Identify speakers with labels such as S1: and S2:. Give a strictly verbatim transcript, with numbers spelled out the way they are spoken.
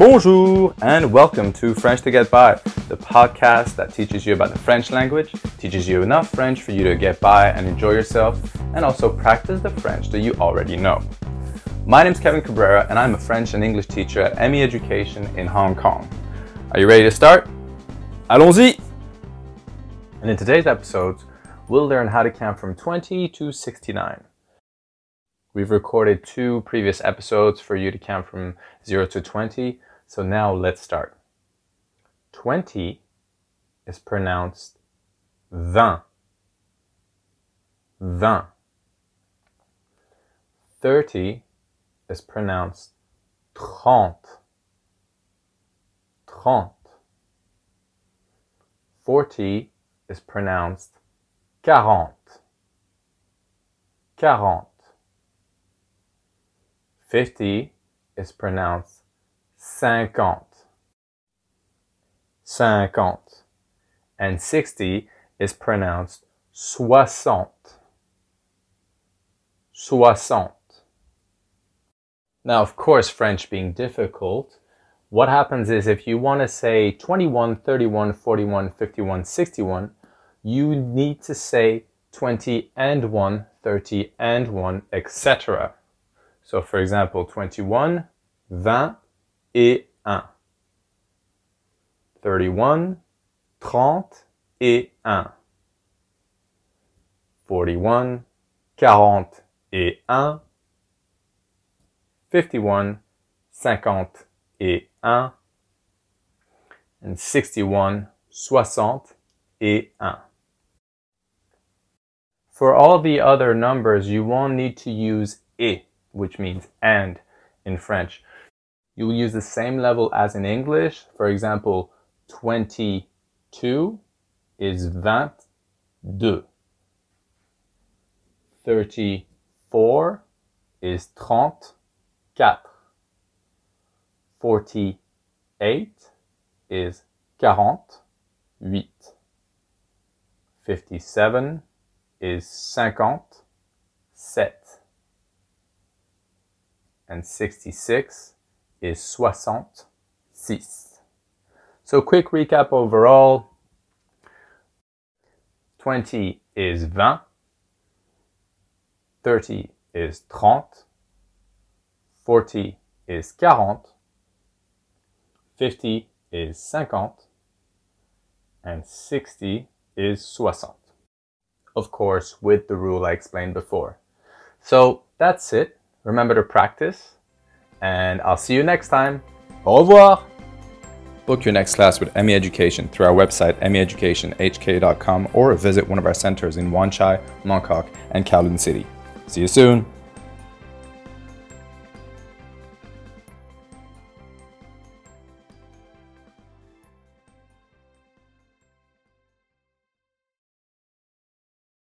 S1: Bonjour and welcome to French to Get By, the podcast that teaches you about the French language, teaches you enough French for you to get by and enjoy yourself, and also practice the French that you already know. My name is Kevin Cabrera and I'm a French and English teacher at M E Education in Hong Kong. Are you ready to start? Allons-y! And in today's episodes, we'll learn how to count from twenty to sixty-nine. We've recorded two previous episodes for you to count from zero to twenty, so now let's start. twenty is pronounced vingt. Vingt. thirty is pronounced trente. Trente. forty is pronounced quarante. Quarante. fifty is pronounced cinquante. Cinquante. And sixty is pronounced soixante. Soixante. Now, of course, French being difficult, what happens is if you want to say twenty-one, thirty-one, forty-one, fifty-one, sixty-one, you need to say twenty and one, thirty and one, et cetera. So, for example, twenty-one, vingt et un. thirty-one, trente et un. forty-one, quarante et un. fifty-one, cinquante et un. And sixty-one, soixante et un. For all the other numbers, you won't need to use et, which means and in French. You will use the same level as in English. For example, twenty-two is vingt-deux. thirty-four is trente-quatre. forty-eight is quarante-huit. fifty-seven is cinquante-sept. And sixty-six is soixante-six. So quick recap overall. twenty is vingt. thirty is trente. forty is quarante. fifty is cinquante. And sixty is soixante. Of course, with the rule I explained before. So that's it. Remember to practice, and I'll see you next time. Au revoir! Book your next class with M E Education through our website, m e education h k dot com, or visit one of our centers in Wan Chai, Mong Kok, and Kowloon City. See you soon!